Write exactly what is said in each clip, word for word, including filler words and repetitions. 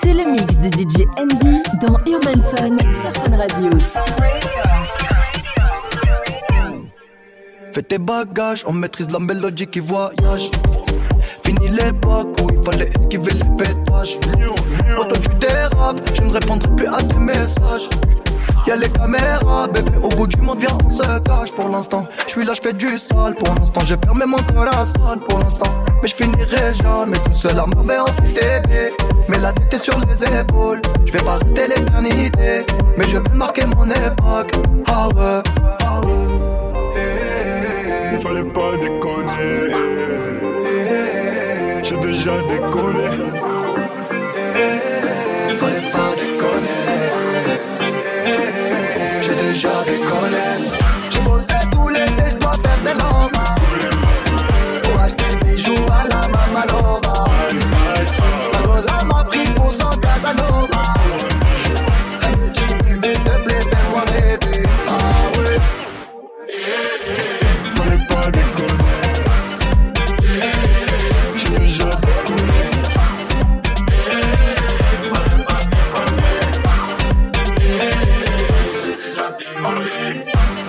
C'est le mix de D J Andy dans Urban Fun sur Fun Radio. Fais tes bagages, on maîtrise la mélodie qui voyage. Fini l'époque où il fallait esquiver les pétages. Quand toi tu dérapes, je ne répondrai plus à tes messages. Y'a les caméras, bébé, au bout du monde, viens, on se cache pour l'instant. J'suis là, j'fais du sale pour l'instant. J'ai fermé mon corazon pour l'instant. Mais j'finirai jamais tout seul à m'emmener en T V. Mais la tête est sur les épaules. J'vais pas rester l'éternité, mais je vais marquer mon époque. Ah ouais. Il fallait pas déconner. J'ai déjà déconné. Il fallait pas déconner. J'ai déjà déconné. J'ai bossé tout l'été, j'dois faire des lampes pour acheter des bijoux à la Mamalova. Ma goza m'a pris pour son Casanova. Elle me dit bébé, s'il te plaît, fais-moi rêver. Ah ouais. Fallait pas déconner. J'ai déjà déconné. Fallait pas déconner. J'ai déjà déconné.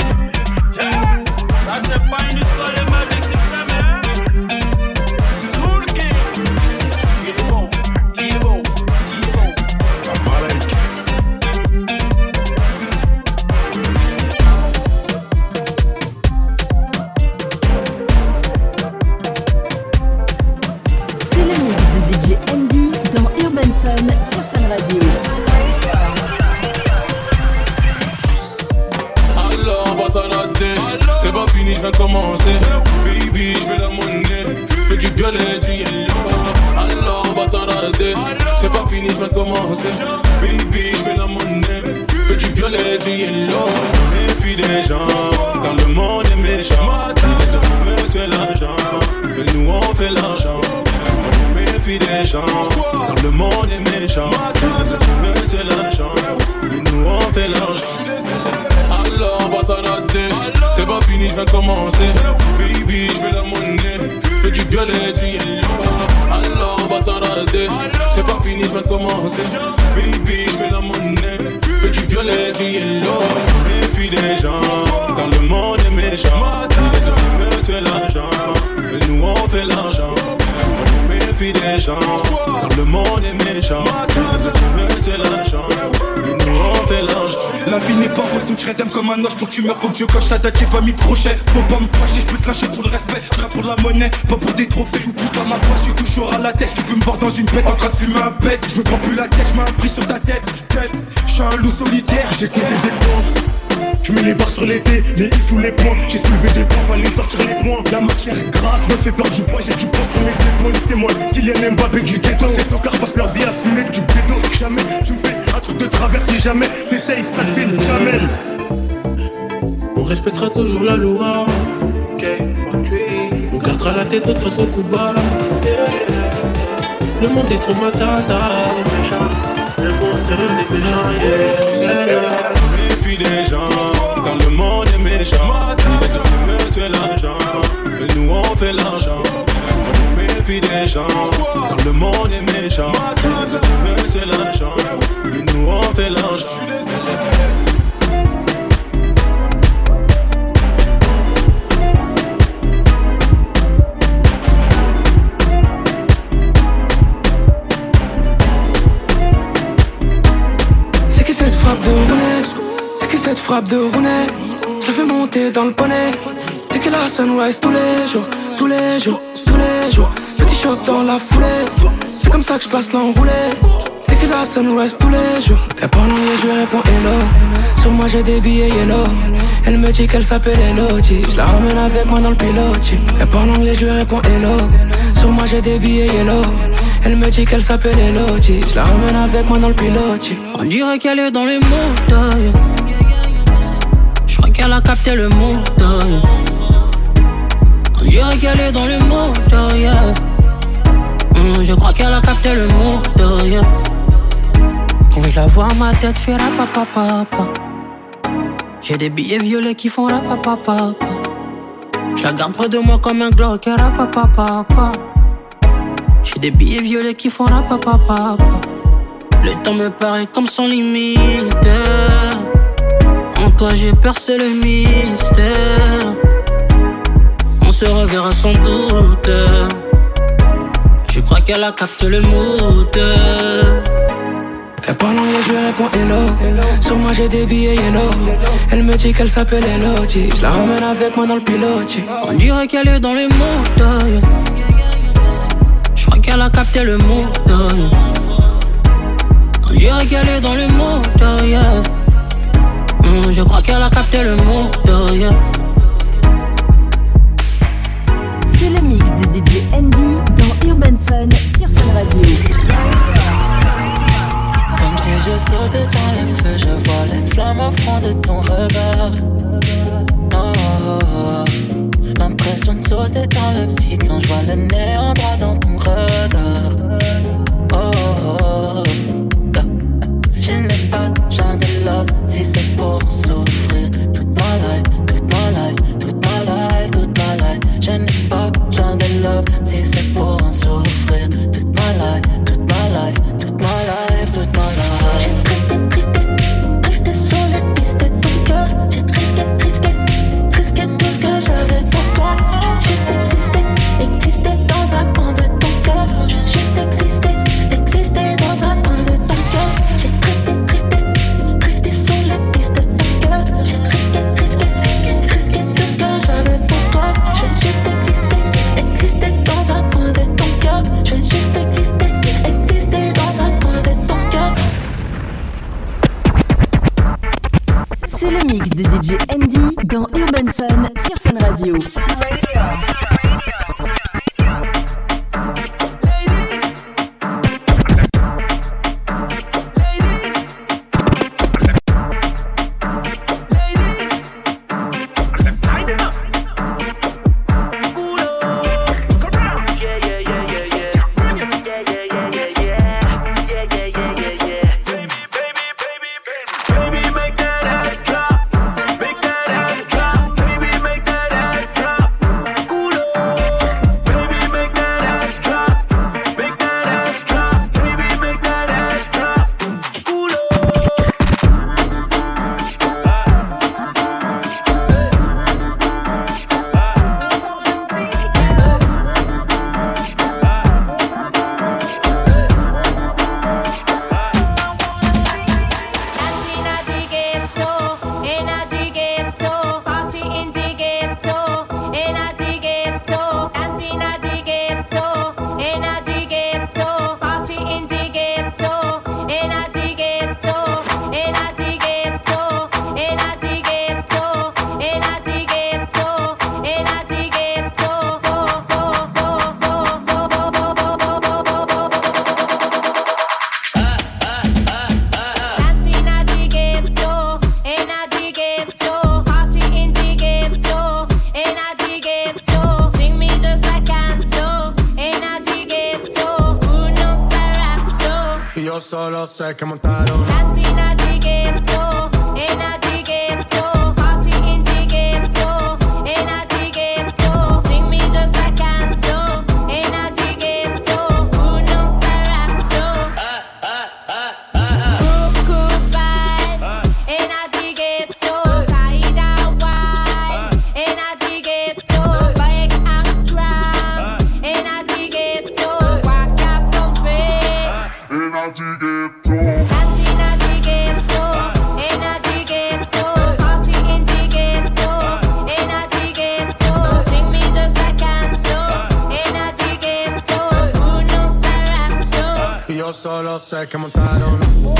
Ça c'est pas une histoire de ma vie, c'est ta mère. C'est sous le game. Tu es bon, tu es bon, tu es bon. Amalek. C'est le mix de D J Andy dans Urban Fun sur Fun Radio. Alors on va t'en rater. C'est pas fini, je vais commencer. Baby, je vais la monnaie. Fais du violet, du yellow. Alors on va t'en rater. C'est pas fini, je vais commencer. Baby, je vais la monnaie. Fais du violet, du yellow. Méfie des gens, quand le monde est méchant. Ils se monsieur l'argent, mais nous on fait l'argent. Méfie des gens, quand le monde est méchant. Ils se monsieur l'argent, mais nous on fait l'argent. Alors on va t'en rater. C'est pas fini, je vais commencer. Baby, je vais la monnaie. Fais du violet, du yellow. Alors on va t'en rater. C'est pas fini, je vais commencer. Baby, je vais la monnaie. Fais du violet, du yellow. Méfie des gens, quand le monde est méchant. Ils se monsieur l'argent, mais nous on fait l'argent. Méfie des gens, quand le monde est méchant. Ils se monsieur l'argent, mais nous on fait l'argent. La vie n'est pas rose, donc je t'aime comme un os. Pour que tu meurs, faut que je coche ta date, j'ai pas mis de crochet. Faut pas me fâcher, je peux te lâcher pour le respect. Je pour la monnaie, pas pour des trophées. Je plus pas ma poche, je suis toujours à la tête. Tu peux me voir dans une bête en train de fumer un bête. Je me prends plus la tête, je mets un prix sur ta tête. Tête, je suis un loup solitaire, j'ai compté des points. Je mets les barres sur les dés, les i sous les points. J'ai soulevé des points, fallait sortir les points. La matière grasse me fait perdre du poids. J'ai du poids sur mes épaules, c'est moi Kylian Mbappé du ghetto. Ces tocards passent leur vie à fumer du bédo. Jamais tu me fais un truc de travers si jamais t'essayes, ça te fait jamais. On respectera toujours la loi. On gardera la tête de toute façon coup bas. Le monde est trop matata. Le monde est méchant, yeah, yeah. Méfie des gens, quand le monde est méchant. Ils se monsieur l'argent, mais nous on fait l'argent. Méfie des gens, quand le monde est méchant. Ils se monsieur l'argent, mais nous on fait l'argent. Cette frappe de Rooney, je fais monter dans le poney. Dès que la sunrise tous les jours, tous les jours, tous les jours. Petit choc dans la foulée, c'est comme ça que je passe l'enroulé. Dès que la sunrise tous les jours. Et pendant les je réponds hello. Sur moi j'ai des billets yellow. Elle me dit qu'elle s'appelle Elodie. Je la ramène avec moi dans le pilote. Et pendant les je réponds hello. Sur moi j'ai des billets yellow. Elle me dit qu'elle s'appelle Elodie. Je la ramène avec moi dans le pilote. On dirait qu'elle est dans les montagnes. Je crois qu'elle a capté le mood, yeah. On dirait qu'elle est dans le mood, yeah. mm, Je crois qu'elle a capté le mood, yeah. Quand je la vois, ma tête fait rapapapapa. J'ai des billets violets qui font rapapapapa. Je la garde près de moi comme un Glock, rapapapapa. J'ai des billets violets qui font rapapapapa. Le temps me paraît comme sans limite. En toi j'ai percé le mystère. On se reverra sans doute. Je crois qu'elle a capté le mood. Elle parle anglais, je réponds hello. Sur moi j'ai des billets yellow. Elle me dit qu'elle s'appelle Elodie. Je la ramène avec moi dans le pilote. On dirait qu'elle est dans le mood. Je crois qu'elle a capté le mood. On dirait qu'elle est dans le mood. Yeah. Mm, je crois qu'elle a capté le mood. Yeah. C'est le mix de D J Andy dans Urban Fun sur Fun Radio. Comme si je sautais dans le feu, je vois les flammes au fond de ton regard. Oh, oh, oh. L'impression de sauter dans le vide quand je vois le néant droit dans ton regard. Oh, oh, oh. Je n'ai pas besoin de love si c'est pour souffrir. Toute ma life, toute ma life, toute ma life, toute ma life. Je n'ai pas besoin de love si c'est pour en souffrir. Toute ma life, toute ma life, toute ma life, toute ma life. J'ai drifté, drifté, drifté sur les pistes de ton cœur. J'ai risqué, risqué, risqué tout ce que j'avais sur toi. J'ai juste existé, existé dans un coin de ton cœur. J'ai juste existé, existé dans un coin de ton cœur. J'ai drifté, drifté, drifté sur les pistes de ton cœur. J'ai risqué, risqué, risqué, risqué tout ce que j'avais sur toi. J'ai juste existé, existé dans un coin de ton cœur. J'ai juste existé, existé dans un coin de ton cœur. C'est le mix de D J Andy dans Urban Fun sur Fun Radio. Solo sé que montaron Latina di ghetto, ena di ghetto, party in the ghetto, ena di ghetto, sing me just a canzo, ena di ghetto, uno sarapso. Cuckoo bye, ena di ghetto, Kaida wine, ena di ghetto, Bike Amsterdam, ena di ghetto, Waka Pompe, ena di ghetto. Latina di ghetto, ena di ghetto, party in the ghetto, ena di ghetto, sing me just a canzo, ena di ghetto, uno sarapso. Yo solo sé que montaron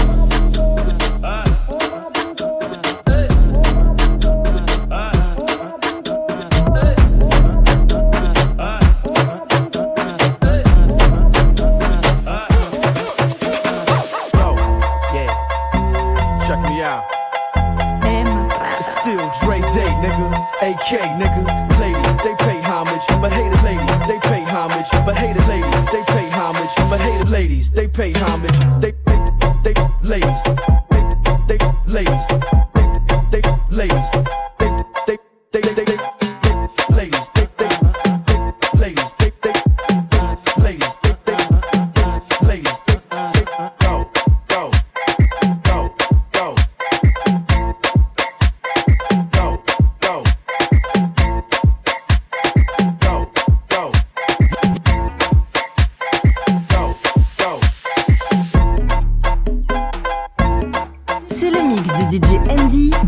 A K, nigga, ladies, they pay homage, but hated ladies, they pay homage, but hated ladies, they pay homage, but hated ladies, they pay homage, they, they, they, ladies, they, they, ladies, they, they, ladies, they, they, they, they, they, ladies, they, they, ladies, they, they, ladies, they, they, ladies, they, go, go,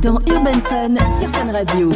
dans Urban Fun sur Fun Radio.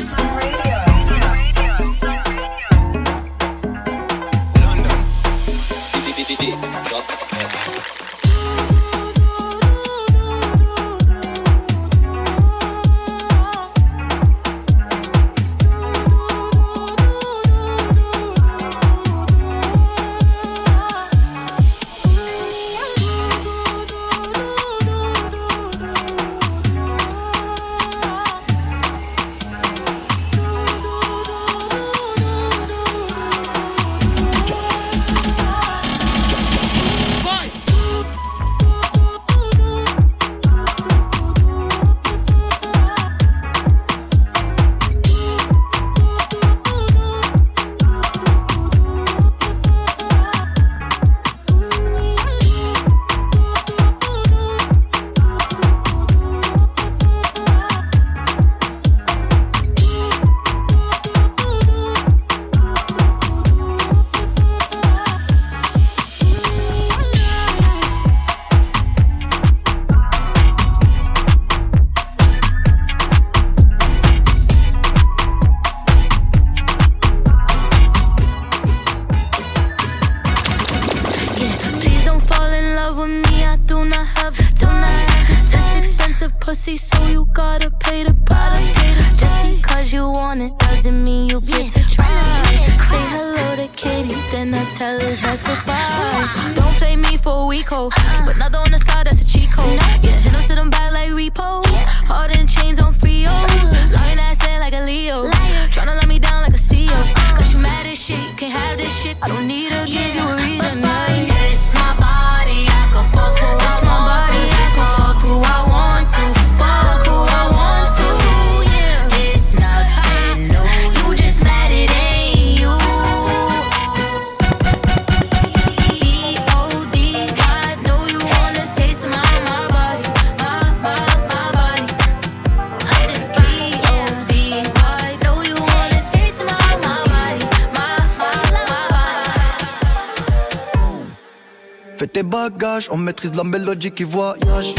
On maîtrise la mélodie qui voyage.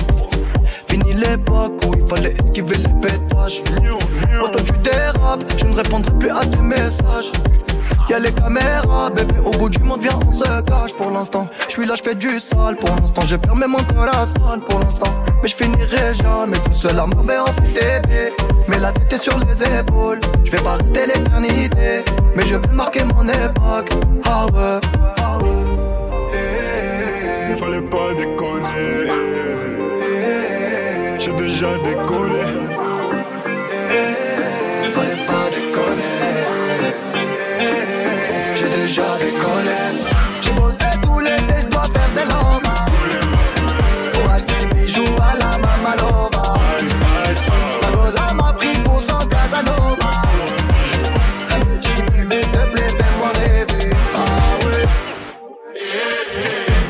Fini l'époque où il fallait esquiver les pétages. Oh, toi tu dérapes, je ne répondrai plus à tes messages. Y'a les caméras, bébé, au bout du monde, viens, on se cache. Pour l'instant, je suis là, je fais du sale. Pour l'instant, j'ai fermé mon corazon. Pour l'instant, mais je finirai jamais tout seul à m'emmener en F T V. Mais la tête est sur les épaules, je vais pas rester l'éternité, mais je vais marquer mon époque. Ah ouais. Fallait pas déconner, j'ai déjà décollé. Fallait pas déconner, j'ai déjà décollé. J'ai bossé tout l'été, je dois faire des lampes pour acheter des bijoux à la Mamalova. La Rosa m'a pris pour son Casanova. Petit bébé, s'il te plaît, fais-moi rêver. Ah ouais.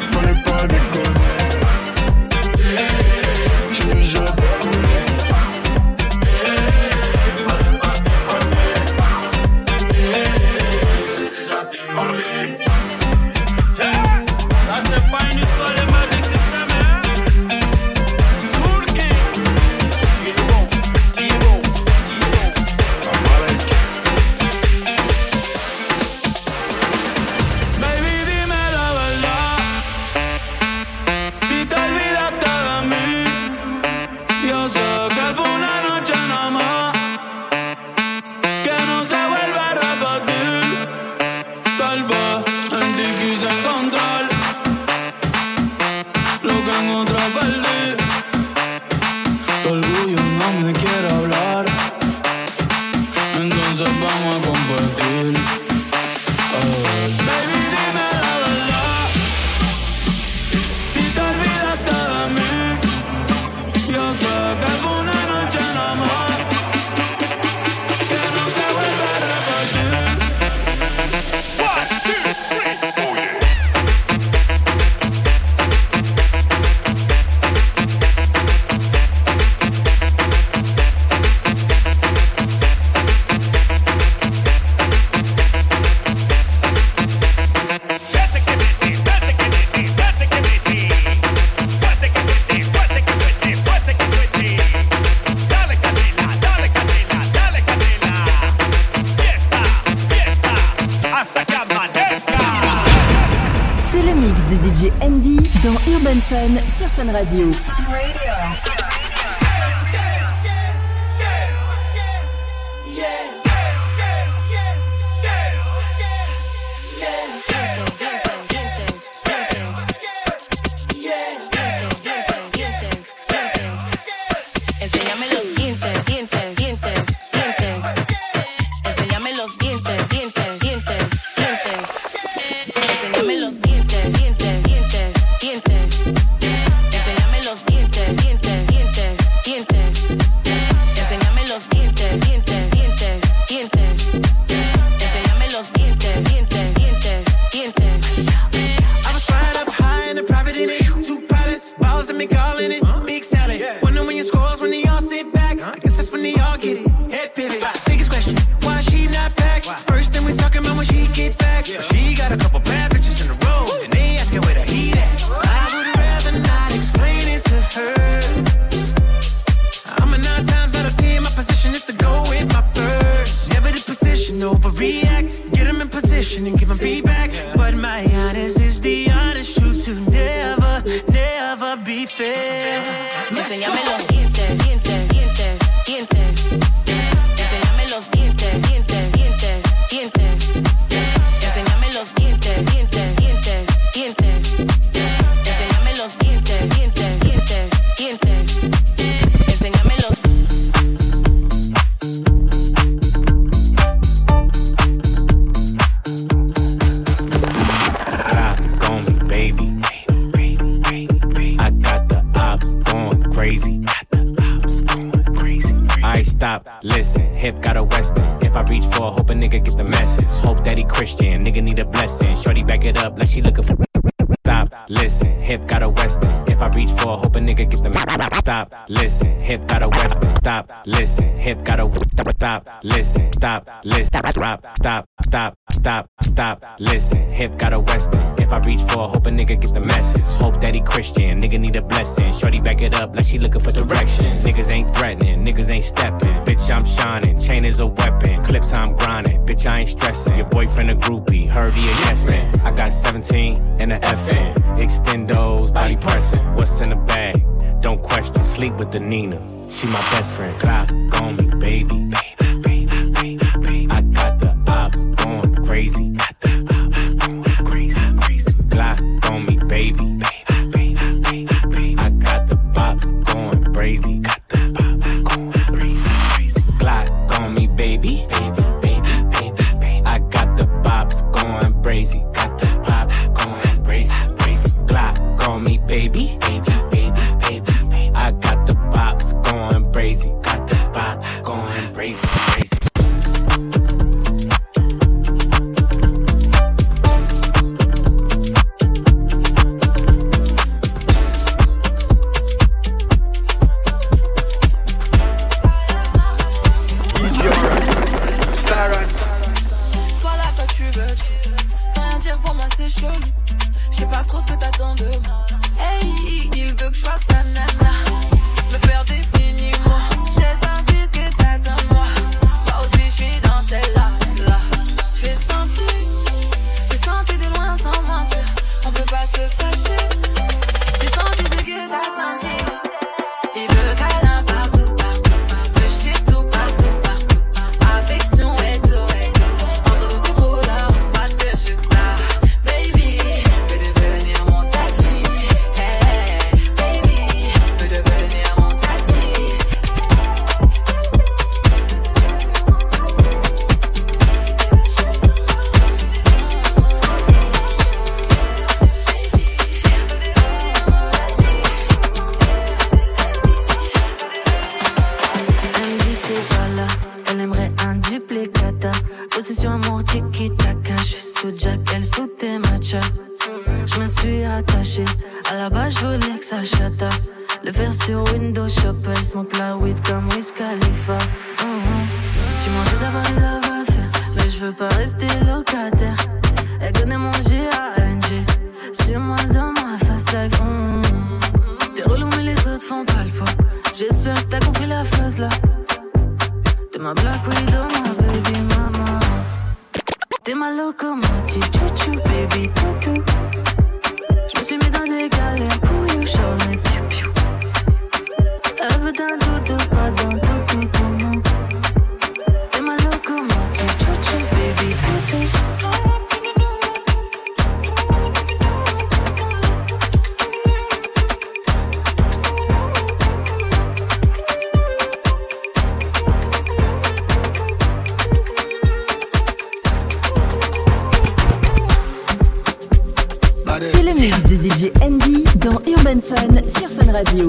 J'ai déjà décollé. Fun sur Fun Radio. Fun Radio. Listen, hip got a western. Stop, listen, hip got a stop, listen, stop, listen, drop, stop, stop, stop, stop, listen, hip got a western. If I reach for, hope a nigga get the message. Hope that he Christian, nigga need a blessing. Shorty back it up like she looking for directions. Niggas ain't threatening, niggas ain't stepping. Bitch, I'm shining, chain is a weapon. Clips I'm grinding, bitch, I ain't stressing. Your boyfriend a groupie, heard he a yes man. I got seventeen and a F N. Extendos, body pressing. What's in the bag? Don't question, sleep with the Nina. She my best friend. Glock on me, baby. Baby, baby, baby, baby. I got the ops going crazy. Got the ops going crazy, crazy. Glock on me, baby. Baby, baby, baby, baby. I got the pops going crazy. Got the pops going crazy, crazy. Glock on me, baby. Baby, baby, baby, baby. I got the pops going crazy. Got the pops going crazy, crazy. Glock on me, baby. Baby. I got the pops going crazy, got the pops going crazy, crazy. Toi là, toi tu veux tout, sans rien dire pour moi c'est chelou. Je sais pas trop ce que t'attends de moi. Hey, il veut que je fasse sa nana, me faire des mini-mots. J'ai senti ce que t'attends de moi. Moi aussi je suis dans celle-là, là. J'ai senti, j'ai senti de loin sans mentir. On peut pas se fâcher. J'ai senti ce que t'as senti. Il veut câlin partout, partout. Veut chier tout partout, partout. Affection et tout, et tout. Entre nous c'est trop là, parce que je suis ça. Baby, peut devenir mon tati. Hey, baby, peut devenir mon tati. Elle me dit t'es pas là, elle aimerait un duplicata. Possession amour tiki-taka, je suis sous Jack, elle sous tes matchas. Je me suis attachée, à la base je voulais que ça chata. Le faire sur Windows Shop, elle smoke la weed comme Wiz Khalifa. Mm-hmm. Tu m'en veux d'avoir des love à faire, mais je veux pas rester locataire. Elle connaît mon G A N G, sur moi dans ma fast life. Mm-hmm. T'es relou mais les autres font pas le poids. J'espère que t'as compris la phrase là. T'es ma Black Widow, ma baby mama. T'es ma locomotive, chouchou, baby toutou. Je me suis mis dans des galères pour you. sur Fun Radio.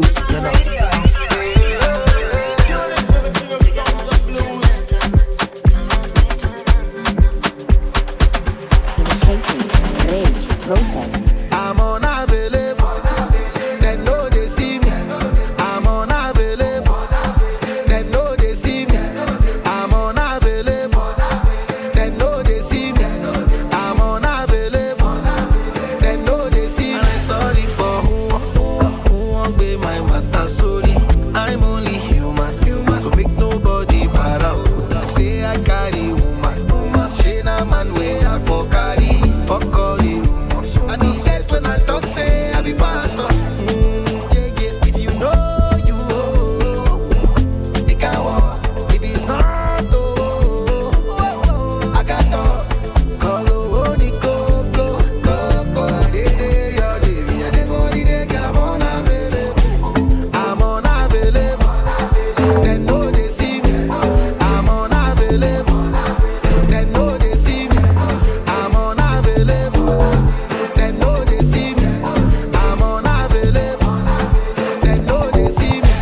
I'm unavailable. They know they see me. I'm unavailable. They know they see me. I'm unavailable. They know they see me. I'm unavailable. They know they see me. And I'm sorry for who, who, who won't be my matter. Sorry, I'm only human, human. So make nobody para. Say I carry woman, woman. She na man way I for carry, for carry. I be dead when I talk, say I be pastor. Mm, yeah, yeah. If you know, you know. It can walk. If it's not, oh, I got talk. Call oh, the go, go, go, go. Day, day, your day, me a day for the day, girl, I'm unavailable. I'm unavailable. They know they see me. I'm unavailable. They know they see me. I'm unavailable. They know they see me. I'm unavailable. They know they see me.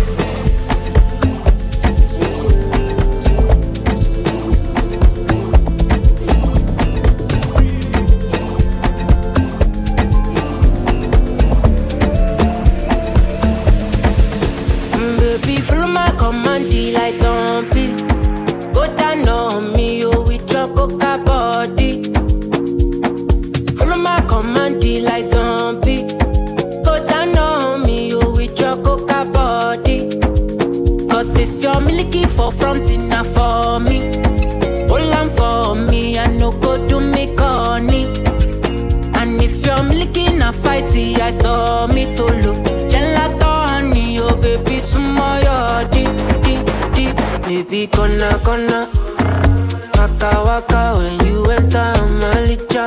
Mm, Baby, follow my command, like zombie. Go down on me, oh, with your coca body. Follow my command, like zombie. Go down on me, oh, with your coca body. Cause this your milky for fronting now for me. Hold on for me, I no go do me corny. And if you're milky na fighty, I saw me to look. Gelato honey, oh baby, sumo yo di, di, di. Baby, gonna, gonna. Waka, waka, when you enter my licha.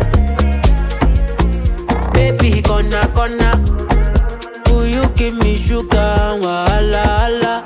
Baby, gonna, gonna. Will you give me sugar, wala, wala.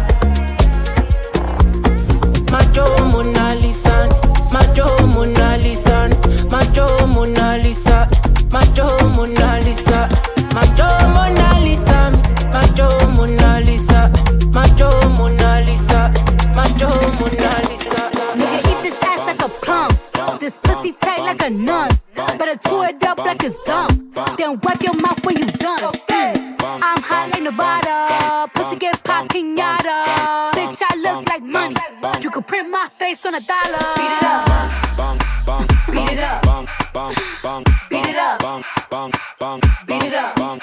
Macho Mona Lisa, Macho Mona Lisa, Macho Mona Lisa, Macho Mona Lisa, Macho Mona Lisa, Macho Mona Lisa, Macho Mona Lisa, Macho Mona Lisa. Nigga, eat this ass like a plum. This pussy tight like a nun. Better chew it up like it's gum. Then wipe your mouth when you done. Mm. I'm hot like Nevada. Pussy get pop pinata. Bitch, I look like money. You could print my face on a dollar. Beat it up. Beat it up. Beat it up. Beat it up.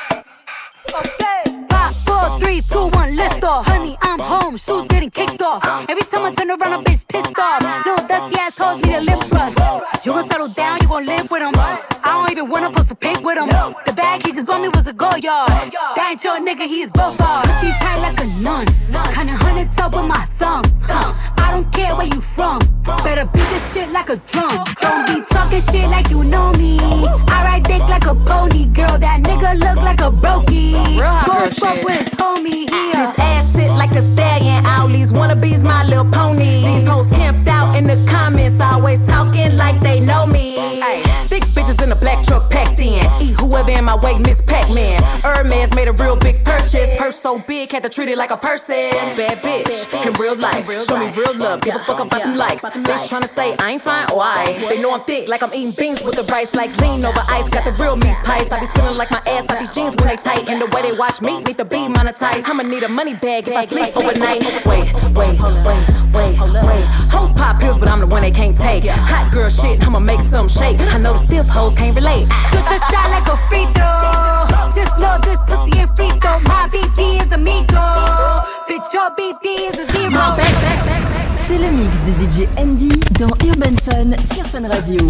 Okay. Five, four, three, two, one, lift off. Honey, I'm home. Shoes getting kicked off. Every time I turn around, a bitch pissed off. Little dusty assholes need a lip brush. You gon' settle down, you gon' live with him. I don't even wanna post a pic with him. The bag he just bought me was a go yard. That ain't your nigga, he is both bars. Pussy tight like a nun. Kinda hundred top with my thumb. I don't care where you from. Better beat this shit like a drum. Don't be talking shit like you know me. I ride dick like a pony. Girl, that nigga look like a brokey. Go fuck with his homie. This ass sit like a stallion. All these wannabes my little pony. These hoes camped out in the comments, always talking like they know me. Ay, thick bitches in a black truck packed in. Eat whoever in my way, Miss Pac-Man. Hermes made a real big purchase. Purse so big, had to treat it like a person. Bad bitch, in real life. Show me real love, give a fuck about them likes. Bitch tryna say I ain't fine, why? They know I'm thick, like I'm eating beans with the rice. Like lean over ice, got the real meat pies. I be feeling like my ass, like these jeans when they tight. And the way they watch me, need to be monetized. I'ma need a money bag if I sleep overnight. Wait, wait, wait, wait, wait. Hoes pop pills, but I'm the one they can't take. Hot girl shit, I'ma make some shake. I know the stiff hoes can't relate. Shoot your shot like a free throw. Just know this pussy ain't free throw. My B D is amigo. Bitch, your B D is a zero. C'est le mix de D J Andy dans Urban Fun sur Fun Radio.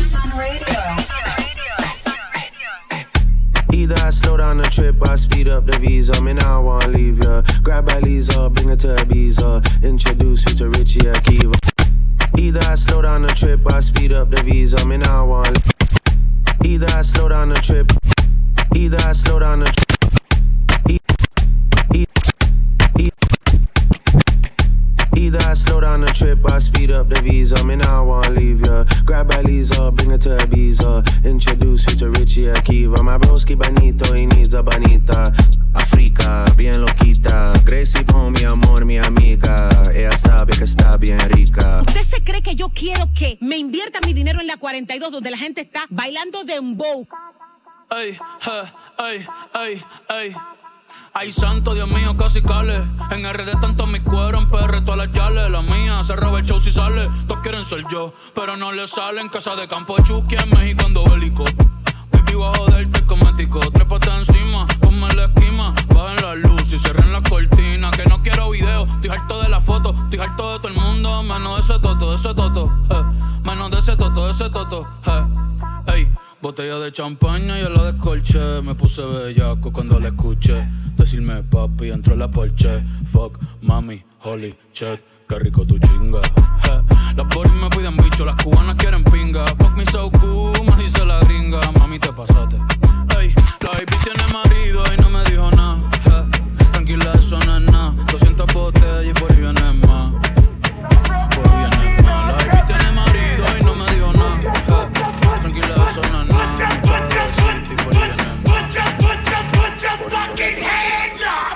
Either I slow down the trip, I speed up the visa. Me now I wanna leave ya. Grab a Lisa, bring her to Ibiza. Introduce you to Richie Akiva. Either I slow down the trip, I speed up the visa. Me now I wanna. Either I slow down the trip. Either I slow down the trip. Either I slow down the trip, I speed up the visa. Me now I wanna leave ya. Grab grab Aliza, bring her to Ibiza. Introduce you to Richie Akiva. My broski bonito, he needs a bonita. Africa, bien loquita. Gracie Pon, mi amor, mi amiga. Ella sabe que está bien rica. ¿Usted se cree que yo quiero que me invierta mi dinero en la cuarenta y dos donde la gente está bailando dembow? Ey, ey, ey, ey. Ay, santo, Dios mío, casi cale. En R D tanto mi cuero, en P R todas las yales. La mía se roba el show si sale. Todos quieren ser yo, pero no le salen. Casa de campo de Chucky en México ando bélico. Baby, voy a joderte cosmético. Trépate encima, ponme la esquima. Bajen la luz y cierren la cortina. Que no quiero video, estoy harto de la foto. Estoy harto de todo el mundo, menos de ese toto, de ese toto eh. Menos de ese toto, de ese toto eh. Ey, botella de champaña y yo la descolché. Me puse bellaco cuando la escuché decirme papi entró la Porsche. Fuck, mami, holy shit, qué rico tu chinga eh. Las boris me piden bicho, las cubanas quieren pinga. Fuck me so cool, me dice la gringa. Mami, te pasaste. Ey, la baby tiene marido y no me dijo nada eh. Tranquila, eso no es nada. doscientas botellas y por ahí viene más. Por ahí viene más. La baby tiene marido y no me dijo nada eh. Tranquila, eso no es nada. Mucha de decirte y por ahí viene más. Put your, put your, put your fucking hands up.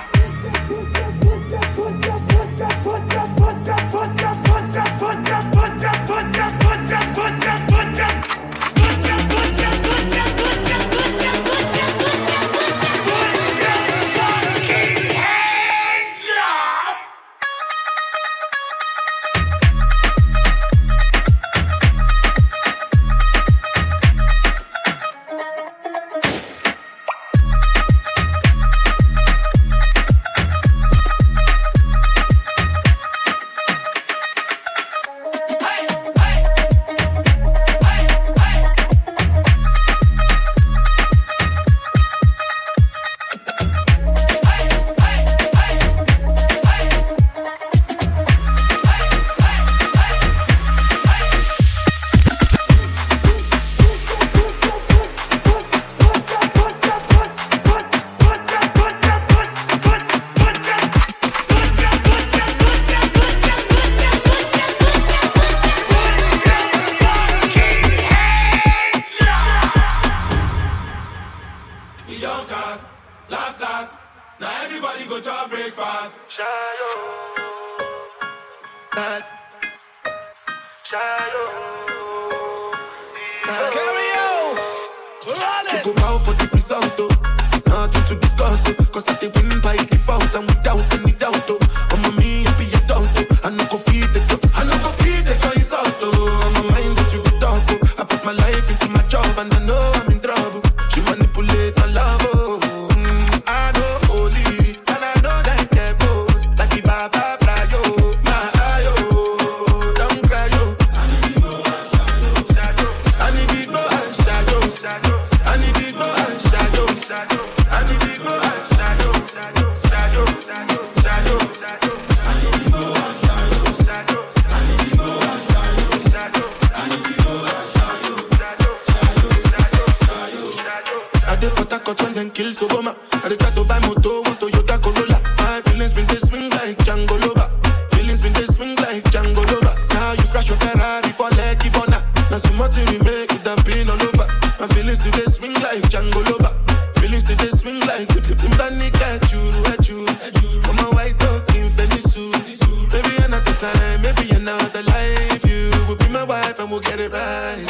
Maybe another life, you will be my wife and we'll get it right.